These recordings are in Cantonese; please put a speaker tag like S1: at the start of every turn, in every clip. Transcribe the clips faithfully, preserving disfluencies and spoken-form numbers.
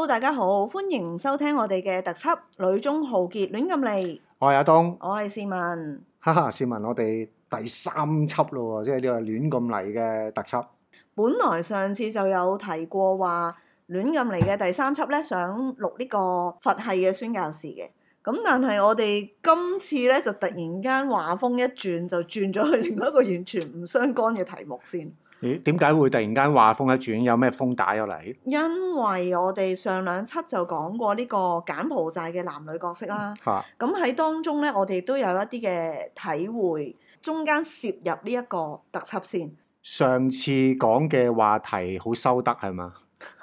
S1: 大家好，歡迎收聽我哋嘅特輯《女中豪傑亂咁嚟》。
S2: 我係阿東，
S1: 我係市民。
S2: 哈哈，市民，我哋第三輯咯喎，即係呢個亂咁嚟嘅特輯。
S1: 本來上次就有提過話亂咁嚟嘅第三輯咧，想錄呢個佛系嘅宣教士嘅。咁但係我哋今次咧就突然間話風一轉，就轉咗去另外一個完全唔相干嘅題目先。
S2: 咦？點解會突然間話風一轉？有咩風打咗嚟？
S1: 因為我哋上兩輯就講過呢個柬埔寨嘅男女角色啦。
S2: 嚇！
S1: 咁喺當中咧，我哋都有一啲嘅體會，中間涉入呢一個特輯先。
S2: 上次講嘅話題好收得係嘛？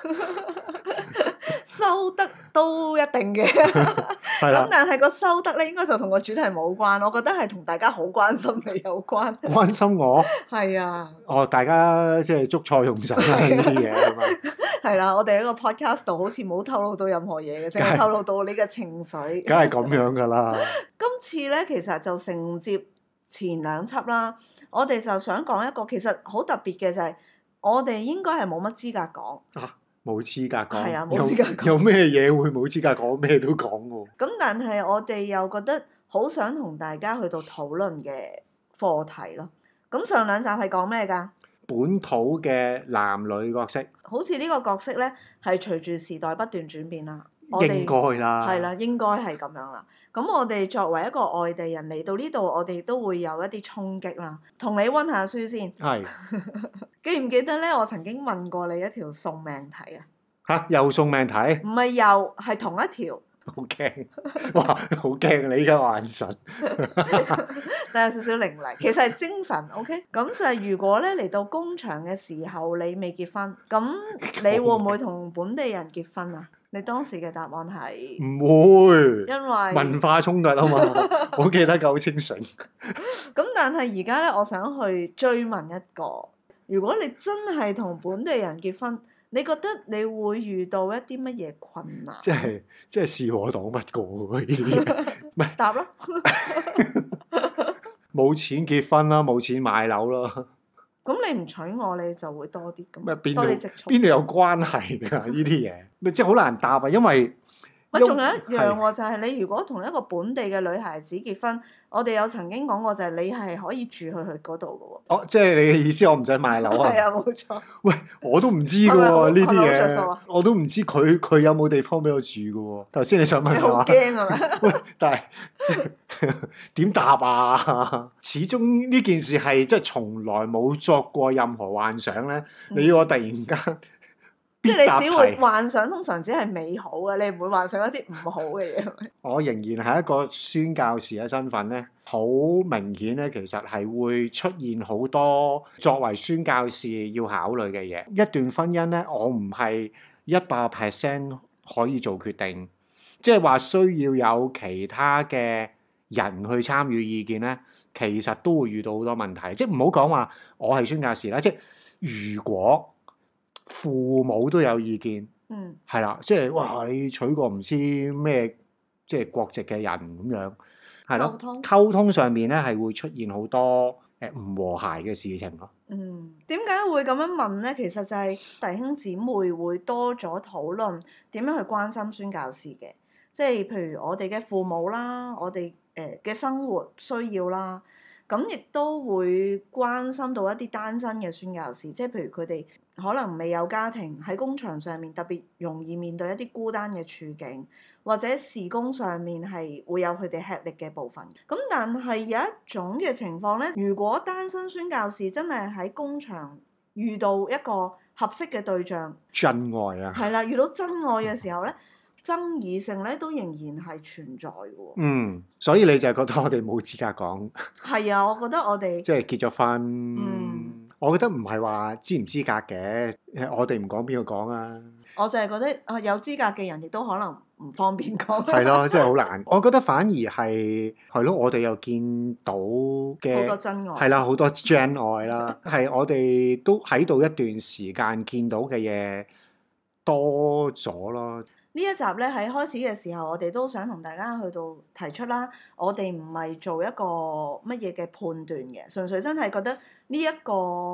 S1: 收得都一定嘅，
S2: 係啦
S1: 咁。但係個收得咧，應該就同個主題冇關，我覺得係同大家好關心你有關。
S2: 關心我？
S1: 係啊。
S2: 哦，大家即係捉錯用神啦呢啲嘢係嘛？
S1: 係啦，我哋喺個 podcast 度好似冇透露到任何嘢嘅，淨係透露到你嘅情緒。
S2: 梗係咁樣㗎啦。
S1: 今次咧，其實就承接前兩輯啦，我哋就想講一個其實好特別嘅就係、是，我哋應該係冇乜資格講。
S2: 啊，冇資格講。
S1: 係啊，冇資格講。
S2: 有有咩嘢會冇資格講？咩都講喎。
S1: 咁但係我哋又覺得好想同大家去到討論嘅課題咯。咁上兩集係講咩㗎？
S2: 本土嘅男女角色。
S1: 好似呢個角色咧，係隨住時代不斷轉變啦。我哋
S2: 應該啦。
S1: 係啦，應該係咁樣啦。咁我哋作為一個外地人嚟到呢度，我哋都會有一啲衝擊啦。同你温下書先。
S2: 係。
S1: 記唔記得咧？我曾經問過你一條送命題啊。
S2: 嚇！又送命題？
S1: 唔係又係同一條。
S2: 好驚！哇！好驚！你依家眼神。
S1: 但有少少凌厲，其實係精神。OK，咁就係如果咧嚟到工場嘅時候，你未結婚，咁你會唔會同本地人結婚啊？你當時嘅答案係
S2: 唔會，
S1: 因為
S2: 文化衝突啊嘛，我記得夠清醒。
S1: 咁但係而家咧，我想去追問一個：如果你真係同本地人結婚，你覺得你會遇到一啲乜嘢困難？
S2: 即係即係是我擋不過喎呢啲嘢，唔係
S1: 答咯。
S2: 冇錢結婚啦，冇錢買樓啦。
S1: 咁你唔娶我，你就會多啲咁。
S2: 咩邊度
S1: 多啲積蓄？
S2: 邊度有關係㗎？呢啲嘢咪即係好難答啊，因為
S1: 咪仲有一樣喎，就係你如果同一個本地嘅女孩子結婚，我哋有曾經講過，就係你係可以住去佢嗰度嘅喎。
S2: 哦，即係你嘅意思，我唔使買樓啊？
S1: 係啊，冇錯。
S2: 喂，我都唔知㗎喎呢啲
S1: 係咪好着數
S2: 嘢
S1: 啊，
S2: 我都唔知佢佢有冇地方俾我住㗎喎。頭先你想問
S1: 你好
S2: 我？
S1: 驚啊嘛？
S2: 喂，但係點答啊？始終呢件事係即係從來冇作過任何幻想咧。
S1: 嗯、
S2: 你要我突然間
S1: 即係你只會
S2: 題
S1: 幻想，通常只係美好嘅，你唔會幻想一啲唔好嘅嘢。
S2: 我仍然係一個宣教士嘅身份咧，好明顯咧，其實係會出現好多作為宣教士要考慮嘅嘢。一段婚姻咧，我唔係一百 percent 可以做決定，即係話需要有其他嘅人去參與意見咧，其實都會遇到好多問題。即係唔好講話我係宣教士啦，即係如果父母都有意見，
S1: 嗯，
S2: 係啦，即係哇，你娶個唔知咩即係國籍嘅人咁樣，係咯，
S1: 溝通
S2: 溝通上面咧係會出現好多誒唔和諧嘅事情咯。
S1: 嗯，點解會咁樣問咧？其實就係弟兄姊妹會多咗討論點樣去關心宣教士嘅，即係譬如我哋嘅父母啦，我哋誒嘅生活需要啦，咁亦都會關心到一啲單身嘅宣教士，即係譬如佢哋可能未有家庭，喺工場上面特別容易面對一啲孤單嘅處境，或者事工上面係會有佢哋吃力嘅部分。咁但係有一種嘅情況咧，如果單身宣教士真係喺工場遇到一個合適嘅對象，
S2: 真愛啊！
S1: 係啦，遇到真愛嘅時候咧，爭議性咧都仍然係存在嘅喎。
S2: 嗯，所以你就係覺得我哋冇資格講？
S1: 係啊，我覺得我哋
S2: 即係結咗婚。
S1: 嗯。
S2: 我覺得唔係話資唔資格嘅，我哋唔講邊個講啊？
S1: 我就係覺得啊，有資格嘅人亦都可能唔方便講。
S2: 係咯，真係好難。我覺得反而係係咯，我哋又見到嘅
S1: 好多真愛。
S2: 係啦，好多真愛啦，係我哋都喺度一段時間見到嘅嘢多咗咯。
S1: 呢一集咧喺開始嘅時候，我哋都想同大家去到提出啦。我哋唔係做一個乜嘢嘅判斷嘅，純粹真係覺得呢一個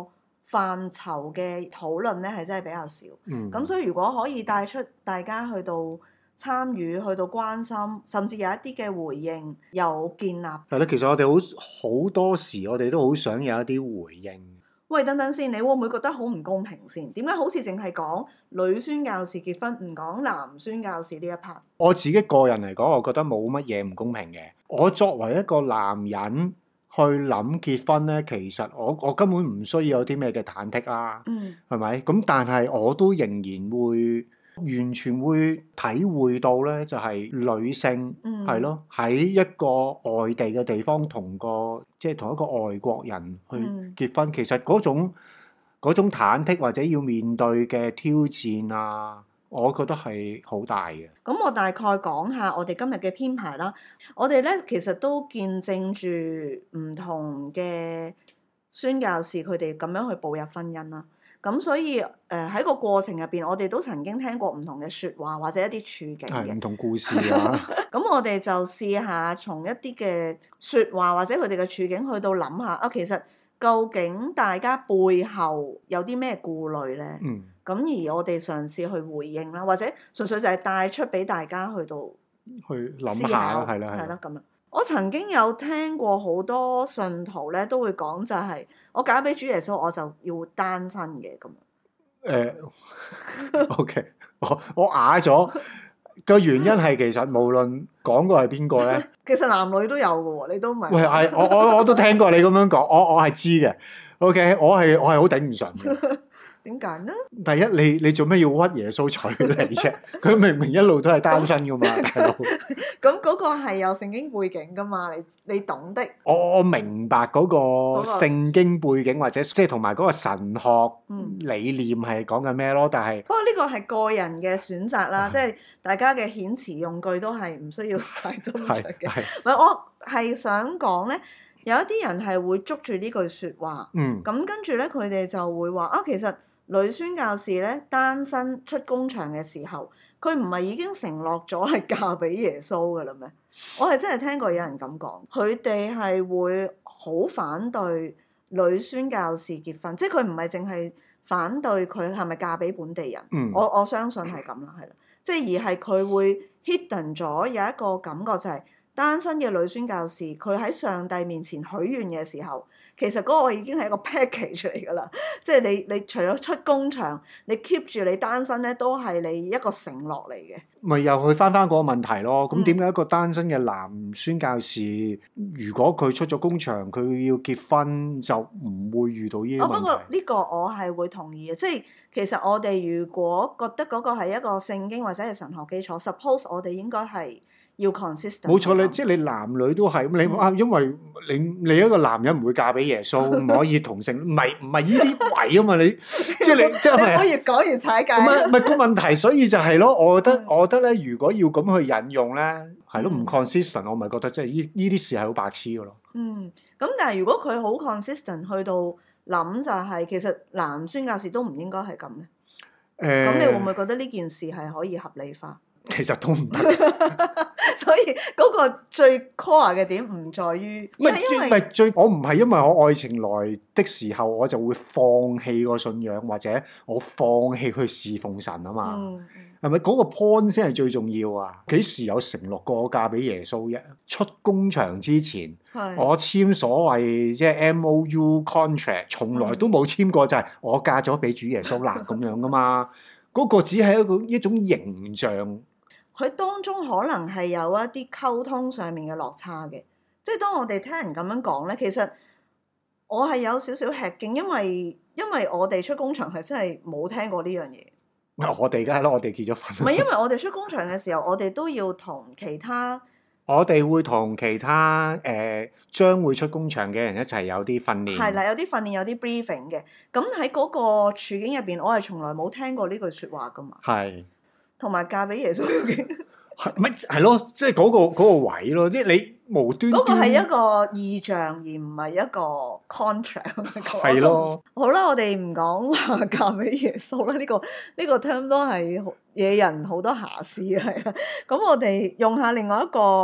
S1: 範疇嘅討論咧係真係比較少。
S2: 嗯。
S1: 咁所以如果可以帶出大家去到參與、去到關心，甚至有一啲嘅回應有建立。
S2: 係咯，其實我哋好好多時，我哋都好想有一啲回應。
S1: 喂，等等先，你會唔會覺得好唔公平先？點解好似淨係講女宣教士結婚，唔講男宣教士呢一 part？
S2: 我自己個人嚟講，我覺得冇乜嘢唔公平嘅。我作為一個男人去諗結婚咧，其實我我根本唔需要有啲咩嘅忐忑啦，
S1: 嗯，
S2: 係咪？咁但係我都仍然會完全會體會到咧，就係女性係咯，喺一個外地嘅地方同個即係同一個外國人去結婚，其實嗰種嗰種忐忑或者要面對嘅挑戰啊，我覺得係好大嘅。
S1: 咁我大概講下我哋今日嘅編排啦。我哋咧其實都見證住唔同嘅宣教士佢哋咁樣去步入婚姻啦。咁所以誒喺、呃、個過程入邊，我哋都曾經聽過唔同嘅説話或者一啲處境嘅
S2: 唔同故事啊。
S1: 咁我哋就試下從一啲嘅説話或者佢哋嘅處境去到諗下啊，其實究竟大家背後有啲咩顧慮咧？
S2: 嗯。
S1: 咁而我哋嘗試去回應啦，或者純粹就係帶出俾大家去到
S2: 去諗下啦，係啦，
S1: 係啦咁樣。我曾經有聽過好多信徒咧，都會講就係、是、我嫁俾主耶穌，我就要單身嘅咁。
S2: 誒、呃、，OK，我我啞咗個原因係其實無論講過係邊個咧，
S1: 其實男女都有嘅喎，你都唔係。
S2: 喂，係我我我都聽過你咁樣講，我我係知嘅。OK，我係我係好頂唔順嘅。
S1: 點解呢？
S2: 第一，你你做咩要屈耶穌娶你啫？佢明明一路都係單身噶嘛，大佬。
S1: 咁嗰個係有聖經背景噶嘛？你你懂的。
S2: 我我明白嗰個聖經背景或者即係同埋嗰個神學理念係講緊咩咯，但係
S1: 不過呢個係個人嘅選擇啦，即係大家嘅遣詞用句都係唔需要太斟酌嘅。唔係，我係想講咧，有一啲人係會捉住呢句説話，
S2: 嗯，
S1: 咁跟住咧佢哋就會話啊，其實女宣教士咧單身出工場嘅時候，佢唔係已經承諾咗係嫁俾耶穌噶啦咩？我係真係聽過有人咁講，佢哋係會好反對女宣教士結婚，即係佢唔係淨係反對佢係咪嫁俾本地人，
S2: 嗯、
S1: 我我相信係咁啦，係啦，即係而係佢會 hidden 咗有一個感覺就係、是、單身嘅女宣教士，佢喺上帝面前許願嘅時候。其實嗰個已經係一個 package 嚟㗎啦，即係你你除咗出工場，你 keep 住你單身咧，都係你一個承諾嚟嘅。
S2: 咪又去翻翻嗰個問題咯。咁點解一個單身嘅男宣教士，如果佢出咗工場，佢要結婚就唔會遇到呢啲問題？哦，不過
S1: 呢個我係會同意嘅，即係其實我哋如果覺得嗰個係一個聖經或者係神學基礎 ，suppose 我哋應該係。要 consistent。冇
S2: 錯，你即係你男女都係咁，你啊，因為你你一個男人唔會嫁俾耶穌，唔可以同性，唔係唔係呢啲位啊嘛，你即係你即係咪？
S1: 你越講越踩界。
S2: 唔係唔係個問題，所以就係咯，我覺得我覺得咧，如果要咁去引用咧，係咯，唔 consistent，我咪覺得即係呢呢啲事係好白痴嘅咯。
S1: 嗯，咁但係如果佢好 consistent 去到諗就係，其實男宣教士都唔應該係咁咧。誒，咁你會唔會覺得呢件事係可以合理化？
S2: 其實都唔得，
S1: 所以嗰個最 core 嘅點唔在於，
S2: 唔係因為最我唔係因為我愛情來的時候我就會放棄個信仰或者我放棄去侍奉神啊嘛，係咪嗰個 point 先係最重要啊？幾時有承諾過我嫁俾耶穌啫？出工場之前，是我簽所謂即係 M O U contract，從來都冇簽過就係我嫁咗俾主耶穌啦咁樣噶嘛，嗰個只係一個一種形象。
S1: 佢當中可能係有一啲溝通上面嘅落差嘅，即係當我哋聽人咁樣講咧，其實我係有少少吃驚，因為因為我哋出工場係真係冇聽過呢樣嘢。
S2: 我哋梗係咯，我哋結咗婚。
S1: 唔係因為我哋出工場嘅時候，我哋都要同其他，
S2: 我哋會同其他誒、呃、將會出工場嘅人一齊有啲訓練。
S1: 係啦，有啲訓練，有啲 briefing 嘅。咁喺嗰個處境入邊，我係從來冇聽過呢句説話噶嘛。係。同埋嫁俾耶穌嘅，
S2: 係咪係咯？即係嗰個嗰個位咯，即係你無端端。
S1: 嗰個係一個意象，而唔係一個 contract。
S2: 係咯。
S1: 好啦，我哋唔講話嫁俾耶穌啦，呢個呢個 term 都係惹人好多遐思嘅。係啊，咁我哋用下另外一個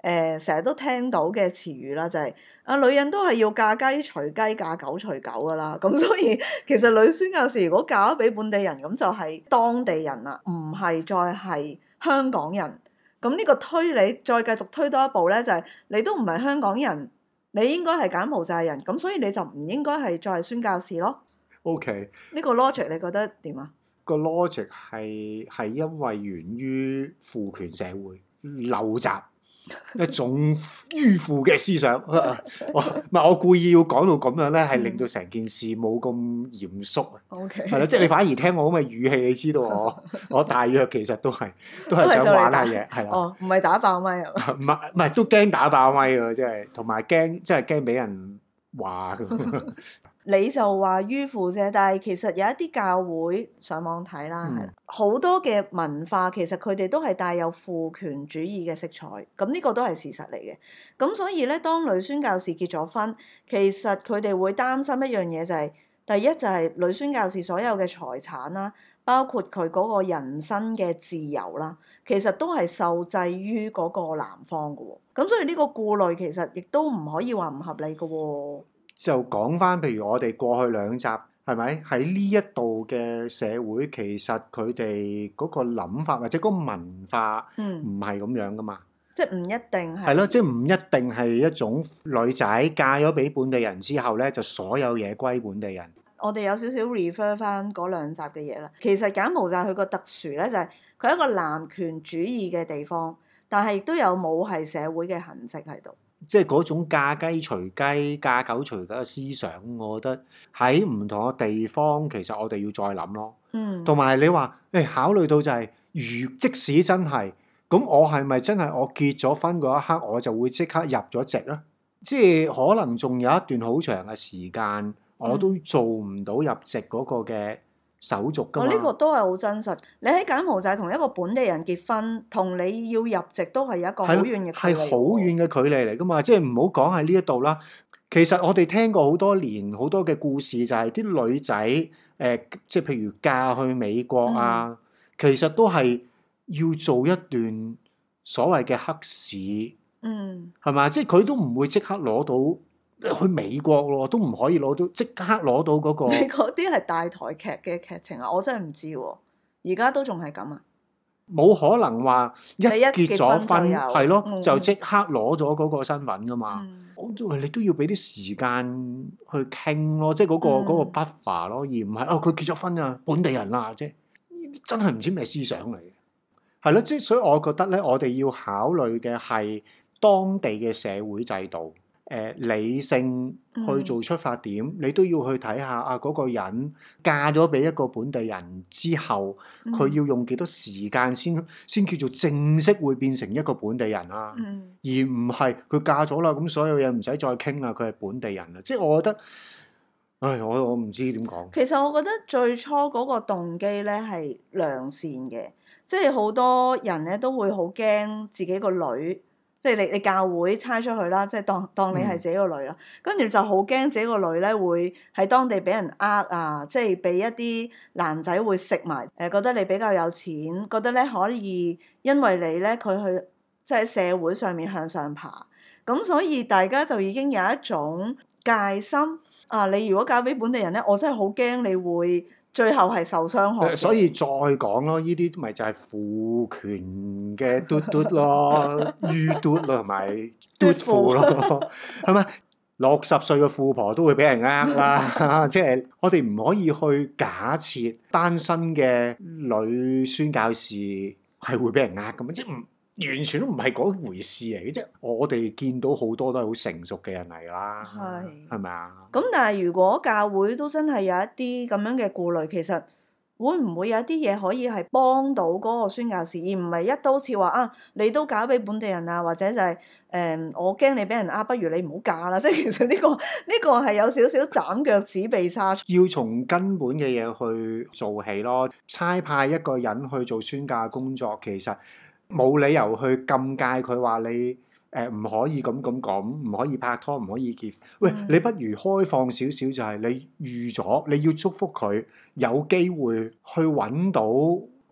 S1: 誒成日都聽到嘅詞語啦，就係、是、啊女人都係要嫁雞隨雞，嫁狗隨狗噶啦。咁所以其實女宣教士如果嫁咗俾本地人，咁就係當地人啦，唔係再係香港人。咁呢個推理再繼續推多一步咧，就係、是、你都唔係香港人，你應該係柬埔寨人，咁所以你就唔應該係再係宣教士咯。
S2: OK，
S1: 呢個 logic 你覺得點啊？
S2: 個 logic 係係因為源於父權社會陋習一種迂腐嘅思想。我唔係我故意要講到咁樣咧，係令到成件事冇咁嚴肅啊。
S1: OK，
S2: 係啦，即係你反而聽我咁嘅語氣，你知道我我大約其實都係都係想玩下嘢，係啦。
S1: 哦，唔係打爆咪啊？
S2: 唔係唔係都驚打爆咪㗎，即係同埋驚即係驚俾人話㗎。
S1: 你就話迂腐啫，但係其實有一啲教會上網睇啦，係啦、嗯，好多嘅文化其實佢哋都係帶有父權主義嘅色彩，咁呢個都係事實嚟嘅。咁所以咧，當女宣教士結咗婚，其實佢哋會擔心一樣嘢就係、是，第一就係女宣教士所有嘅財產啦，包括佢嗰個人身嘅自由啦，其實都係受制於嗰個男方嘅喎。咁所以呢個顧慮其實亦都唔可以話唔合理嘅喎。
S2: 就講翻，譬如我哋過去兩集係咪喺呢一度嘅社會，其實佢哋嗰個諗法或者嗰個文化唔係咁樣噶嘛，
S1: 嗯、即係唔一定係。
S2: 係咯，即係唔一定係一種女仔嫁咗俾本地人之後咧，就所有嘢歸本地人。
S1: 我哋有少少 refer 翻嗰兩集嘅嘢啦。其實柬埔寨佢個特殊咧，就係佢係一個男權主義嘅地方，但係亦都有母系社會嘅痕跡喺度。
S2: 即係嗰種嫁雞隨雞、嫁狗隨狗嘅思想，我覺得喺唔同嘅地方，其實我哋要再諗咯。嗯，同埋你話誒、欸，考慮到就係、是，如即使真係咁，我係咪真係我結咗婚嗰一刻，我就會即刻入咗籍咧？即係可能仲有一段好長嘅時間，我都做唔到入籍嗰個嘅手續㗎嘛。我呢、
S1: 哦呢個都係好真實。你喺柬埔寨同一個本地人結婚，同你要入籍都係一個好遠嘅距離。
S2: 係好遠嘅距離嚟㗎嘛，即係唔好講喺呢一度啦。其實我哋聽過好多年好多嘅故事，就係啲女仔誒、呃，即係譬如嫁去美國啊，嗯、其實都係要做一段所謂嘅黑市，嗯，係嘛？即係佢都唔會即刻攞到。去美國咯，都唔可以攞到即刻攞到嗰個。
S1: 你嗰啲係大台劇嘅劇情啊！我真係唔知喎，而家都仲係咁啊！
S2: 冇可能話一結咗婚係咯，
S1: 嗯、
S2: 就即刻攞咗嗰個身份噶嘛。我都話你都要俾啲時間去傾咯，即係嗰個嗰、嗯、個 buffer 咯，而唔係哦佢結咗婚啊，本地人啦，即係真係唔知咩思想嚟嘅。係咯，即係所以我覺得咧，我哋要考慮嘅係當地嘅社會制度。誒、呃、理性去做出發點，嗯、你都要去睇下啊嗰、那個人嫁咗俾一個本地人之後，佢、嗯、要用幾多時間先先叫做正式會變成一個本地人啊？嗯、而唔係佢嫁咗啦，咁所有嘢唔使再傾啦，佢係本地人啦。即係我覺得，唉，我我唔知點講。
S1: 其實我覺得最初嗰個動機咧係良善嘅，即係好多人咧都會好驚自己個女。即係你你教會差出去啦，即係當當你係自己個女啦，跟住、嗯、就好驚自己個女咧會喺當地俾人呃啊，即係俾一啲男仔會食埋，誒覺得你比較有錢，覺得咧可以因為你咧佢去即係社會上面向上爬，咁所以大家就已經有一種戒心啊！你如果嫁俾本地人咧，我真係好驚你會。最後係受傷害，
S2: 所以再講咯，呢啲咪就係父權嘅嘟嘟咯，於嘟咯，同埋嘟父咯，係咪？六十歲嘅富婆都會俾人呃啦，即係我哋唔可以去假設單身嘅女宣教士係會俾人呃咁啊！即係唔完全都唔係嗰回事嚟嘅，即係我哋見到好多都係好成熟嘅人嚟啦，係係咪啊？
S1: 咁但係如果教會都真係有一啲咁樣嘅顧慮，其實會唔會有一啲嘢可以係幫到嗰個宣教士，而唔係一刀切話啊，你都嫁俾本地人啊，或者就係、是、誒、呃、我驚你俾人呃，不如你唔好嫁啦！即係其實呢、這個呢、這個係有少少斬腳趾避沙蟲。
S2: 要從根本嘅嘢去做起咯，差派一個人去做宣教工作，其實冇理由去禁戒佢話你。誒唔、呃、可以咁咁講，唔可以拍拖，唔可以結。喂，嗯、你不如開放少少，就係你預咗，你要祝福佢有機會去揾到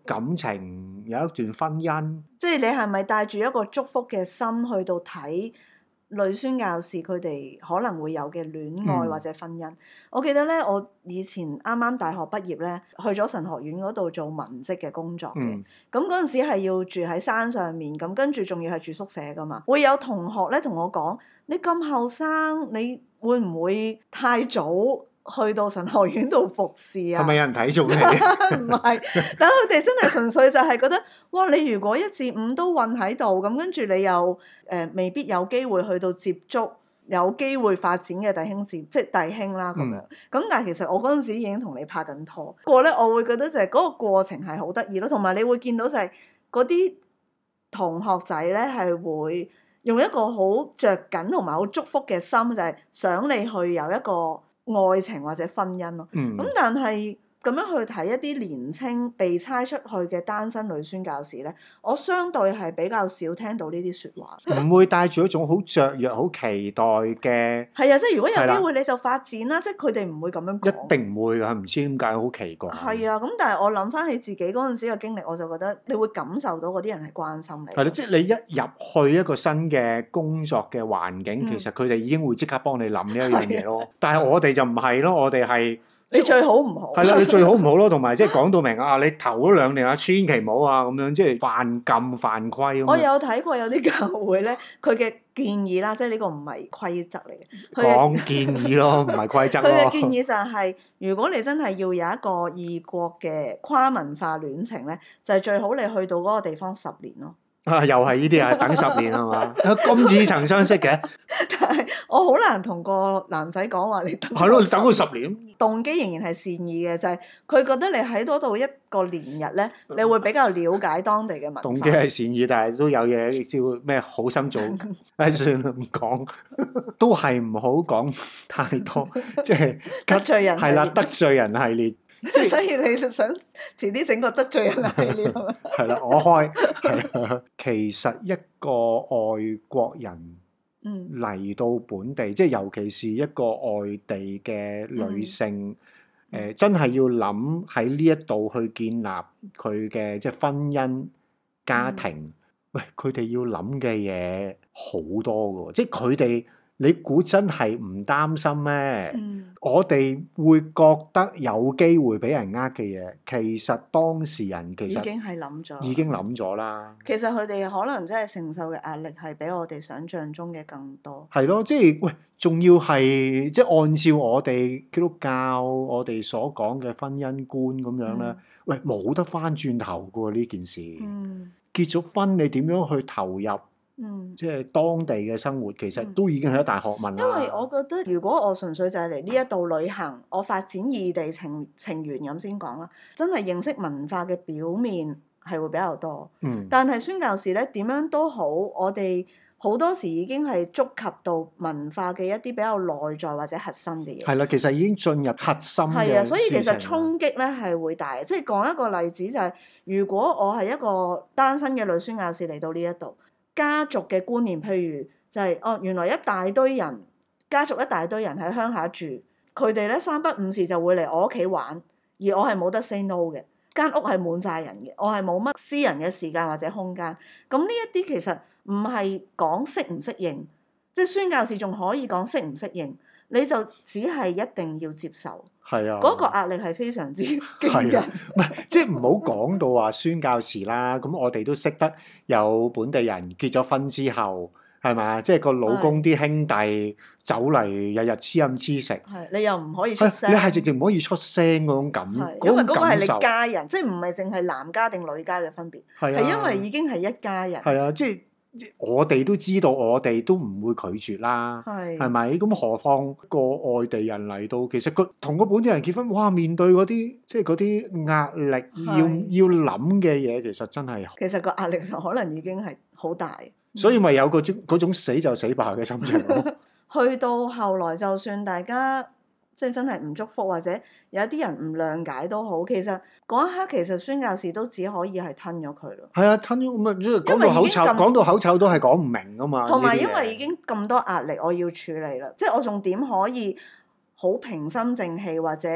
S2: 感情，有一段婚姻。
S1: 即係你係咪帶住一個祝福嘅心去到睇女宣教士佢哋可能會有嘅戀愛或者婚姻？嗯、我記得咧，我以前啱啱大學畢業咧，去咗神學院嗰度做文職嘅工作嘅。咁嗰陣時係要住喺山上面，咁跟住仲要係住宿舍噶嘛。會有同學咧同我講：你咁後生，你會唔會太早去到神學院度服侍啊？
S2: 係咪有人睇中你？
S1: 唔係，但佢哋真係純粹就係覺得，哇！你如果一至五都韞喺度，咁跟住你又誒、呃、未必有機會去到接觸有機會發展嘅弟兄姊，即係弟兄啦咁樣。咁、嗯、但係其實我嗰陣時已經同你拍緊拖。不過咧，我會覺得就係嗰個過程係好得意咯，同埋你會見到就係嗰啲同學仔咧係會用一個好着緊同埋好祝福嘅心，就係、是、想你去有一個愛情或者婚姻咯，咁、嗯、但係咁樣去睇一啲年青被差出去嘅單身女宣教士咧，我相對係比較少聽到呢啲説話，
S2: 唔會帶住一種好雀躍、好期待嘅。
S1: 係啊，即係如果有機會你就發展啦，即係佢哋唔會咁樣講。
S2: 一定唔會㗎，唔知點解好奇怪。
S1: 係啊，咁但係我諗翻起自己嗰陣時嘅經歷，我就覺得你會感受到嗰啲人係關心你。
S2: 係咯，即係你一入去一個新嘅工作嘅環境，嗯、其實佢哋已經會即刻幫你諗呢一樣嘢咯。但係我哋就唔係咯，我哋係。
S1: 你最好唔好，
S2: 係啦，你最好唔好咯，同埋即係講到明啊，你頭嗰兩年啊，千祈唔好啊，咁樣即係犯禁犯規咁。
S1: 我有睇過有啲教會咧，佢嘅建議啦，即係呢個唔係規則嚟嘅。
S2: 講建議咯，唔係規則咯。
S1: 佢嘅建議就係、是，如果你真係要有一個異國嘅跨文化戀情咧，就係、是、最好你去到嗰個地方十年咯。
S2: 啊，又係呢啲啊，等十年係嘛？咁似曾相識嘅。
S1: 但係我好難同個男仔講話你等。
S2: 係咯，等佢十年。
S1: 動機仍然係善意嘅，就係、是、佢覺得你喺嗰度一個年日咧，你會比較了解當地嘅文化。動
S2: 機係善意，但係都有嘢叫咩好心做。唉，算啦，唔講，都係唔好講太多，即係
S1: 得罪人。係
S2: 啦，得罪人系列。
S1: 即係所以你就想遲啲整個得罪人系列係咪？
S2: 係啦，我開係其實一個外國人嚟到本地，嗯、即係尤其是一個外地嘅女性，誒、嗯呃、真係要諗喺呢一度去建立佢嘅即係婚姻家庭。嗯、喂，佢哋要諗嘅嘢好多㗎，即係佢哋。你估真係唔擔心咩？嗯、我哋會覺得有機會俾人呃嘅嘢，其實當事人其實
S1: 已經係諗咗，
S2: 已經諗咗啦。
S1: 其實佢哋可能真係承受嘅壓力係比我哋想象中嘅更多。
S2: 係咯，即係喂，仲要係即係按照我哋基督教我哋所講嘅婚姻觀咁樣咧，嗯、喂，冇得翻轉頭㗎喎呢件事。嗯、結咗婚你點樣去投入？嗯，即係當地嘅生活，其實都已經係一大學問啦。
S1: 因為我覺得，如果我純粹就係嚟呢一度旅行，我發展異地情情緣咁先講啦，真係認識文化嘅表面係會比較多。嗯，但係宣教士咧點樣都好，我哋好多時已經係觸及到文化嘅一啲比較內在或者核心嘅嘢。
S2: 係啦，其實已經進入核心嘅。係啊，
S1: 所以其實衝擊咧係會大。即係講一個例子就係、是，如果我係一個單身嘅女宣教士嚟到呢一度。家族嘅觀念，譬如就係、是、哦，原來一大堆人，家族一大堆人喺鄉下住，佢哋咧三不五時就會嚟我屋企玩，而我係冇得 say no 嘅，間屋係滿晒人嘅，我係冇乜私人嘅時間或者空間。咁呢一啲其實唔係講適唔適應，即係宣教士仲可以講適唔適應，你就只係一定要接受。係啊，嗰個壓力係非常之驚人。
S2: 唔係，即係唔好講到話宣教士啦。咁我哋都識得有本地人結咗婚之後，係咪？即係個老公啲兄弟走嚟日日黐飲黐食。係，
S1: 你又唔可以出聲。
S2: 你係直情唔可以出聲嗰種感，嗰種感受。
S1: 因為嗰個係你家人，即係唔係淨係男家定女家嘅分別。係啊，係因為已經係一家人。
S2: 係啊，即係。我哋都知道，我哋都唔會拒絕啦，係咪？咁何況個外地人嚟到，其實佢同個本地人結婚，哇！面對嗰啲即係嗰啲壓力，要要諗嘅嘢，其實真係
S1: 其實個壓力就可能已經係好大，
S2: 所以咪有嗰種嗰種死就死吧嘅心情咯。
S1: 去到後來，就算大家即係真係唔祝福，或者有啲人唔諒解都好，其實嗰一刻其實宣教士都只可以係吞咗佢咯。
S2: 係啊，吞咗咁啊，即係講到口臭，講到口臭都係講唔明噶嘛。
S1: 同埋因為已經咁多壓力，我要處理啦，即係我仲點可以好平心靜氣或者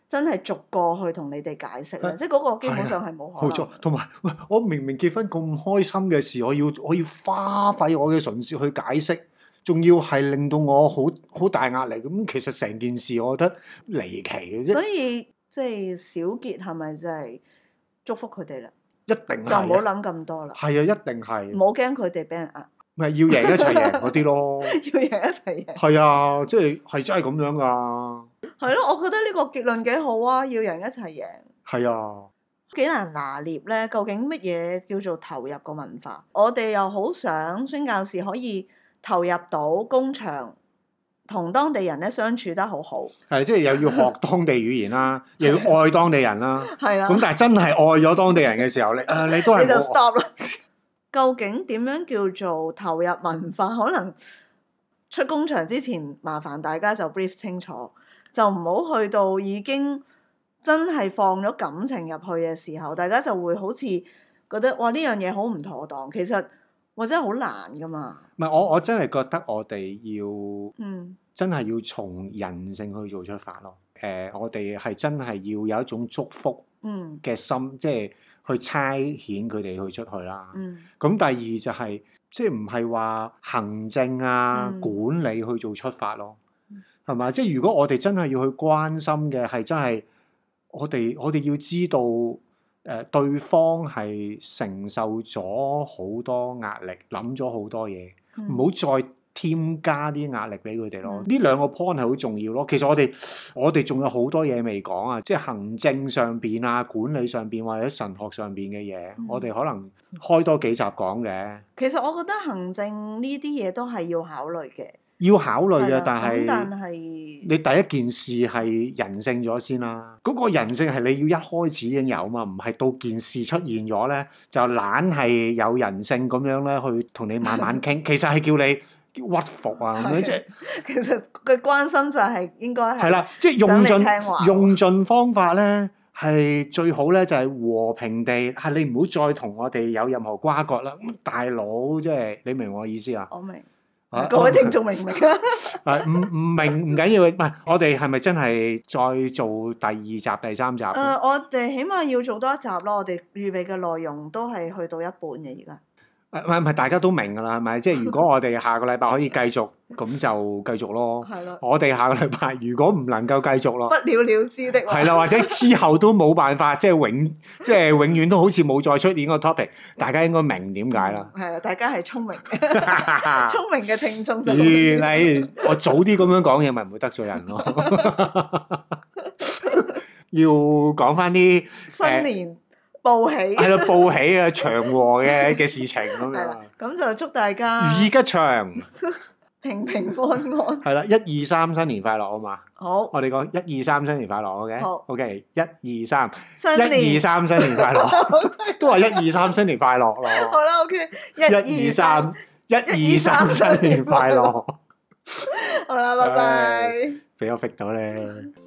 S1: 真係逐個去同你哋解釋咧？即係嗰個基本上係冇可能。
S2: 冇錯，同埋喂，我明明結婚咁開心嘅事，我要我要花費我嘅唇舌去解釋，仲要係令到我好好大壓力。咁其實成件事我覺得離奇嘅啫。
S1: 所以即係小結係咪真係祝福佢哋啦？
S2: 一定係
S1: 就唔好諗咁多啦。
S2: 係啊，一定係。
S1: 唔好驚佢哋俾人呃。
S2: 咪要贏一齊贏嗰啲咯。
S1: 要贏一齊贏。
S2: 係啊，即係係真係咁樣噶。
S1: 係咯，我覺得呢個結論幾好啊！要贏一齊贏。
S2: 係啊。
S1: 幾難拿捏咧？究竟乜嘢叫做投入個文化？我哋又好想宣教士可以投入到工場，同當地人咧相處得好好。
S2: 係，即係又要學當地語言啦，又要愛當地人啦。
S1: 係啦。
S2: 咁但係真係愛咗當地人嘅時候，你誒你都係
S1: 你就 stop 啦。究竟點樣叫做投入文化？可能出工場之前，麻煩大家就 brief 清楚，就唔好去到已經真係放咗感情入去嘅時候，大家就會好似覺得哇呢樣嘢好唔妥當。其實或者好難噶嘛。
S2: 唔係，我我真係覺得我哋要
S1: 嗯
S2: 真係要從人性去做出發咯。誒、呃，我哋係真係要有一種祝福
S1: 嗯
S2: 嘅心，即係去差遣佢哋去出去啦。
S1: 嗯。
S2: 咁第二就係、是、即係唔係話行政啊、
S1: 嗯、
S2: 管理去做出發咯，係嘛？即係如果我哋真係要去關心嘅係真係我哋我哋要知道誒、呃、對方係承受咗好多壓力，諗咗好多嘢，唔好、嗯、再添加啲壓力俾佢哋咯。呢、嗯、兩個 point 係好重要咯。其實我哋我哋仲有好多嘢未講啊，即係行政上邊啊、管理上邊或者神學上邊嘅嘢，嗯、我哋可能開多幾集講嘅。
S1: 其實我覺得行政呢啲嘢都係要考慮嘅，
S2: 要考慮嘅，
S1: 的
S2: 但係
S1: 但係
S2: 你第一件事係人性咗先啦。嗰、嗰個人性係你要一開始已經有嘛，唔係到件事出現咗咧就懶係有人性咁樣咧去同你慢慢傾。其實係叫你屈服啊，咁樣即係
S1: 其實佢關心就係應該係
S2: 係啦，即係用盡用盡方法咧，係最好咧，就係和平地係你唔好再同我哋有任何瓜葛啦。咁大佬即係你明我意思啊？
S1: 我明，啊、各位聽眾明唔明啊？
S2: 係唔唔明唔緊要，唔係我哋係咪真係再做第二集、第三集？誒、
S1: 呃，我哋起碼要做多一集咯。我哋預備嘅內容都係去到一半嘅而家。
S2: 誒唔係唔係，大家都明㗎啦，係咪？即係如果我哋下個禮拜可以繼續，咁就繼續咯。係咯。我哋下個禮拜如果唔能夠繼續咯，
S1: 不了了之的話。係
S2: 啦，或者之後都冇辦法，即係永即係永遠都好似冇再出現個 topic，大家應該明點解啦。係啊，
S1: 大家係聰明嘅，聰明嘅聽眾就。
S2: 原來我早啲咁樣講嘢，咪唔會得罪人咯。要講翻啲
S1: 新年。報喜
S2: 係咯，報喜啊，祥和嘅嘅事情咁樣。
S1: 咁就祝大家
S2: 如意吉祥，
S1: 平平安安。
S2: 係啦，一二三，新年快樂好嘛？
S1: 好，
S2: 我哋講一二三，新年快樂，OK？
S1: 好
S2: OK，一二三，
S1: 新
S2: 一二三，新年快樂，都話一二三，新年快樂咯。
S1: 好啦 ，OK，
S2: 一二三，一二三，新年快樂。
S1: 好啦，拜拜。
S2: 俾我 fit 到咧。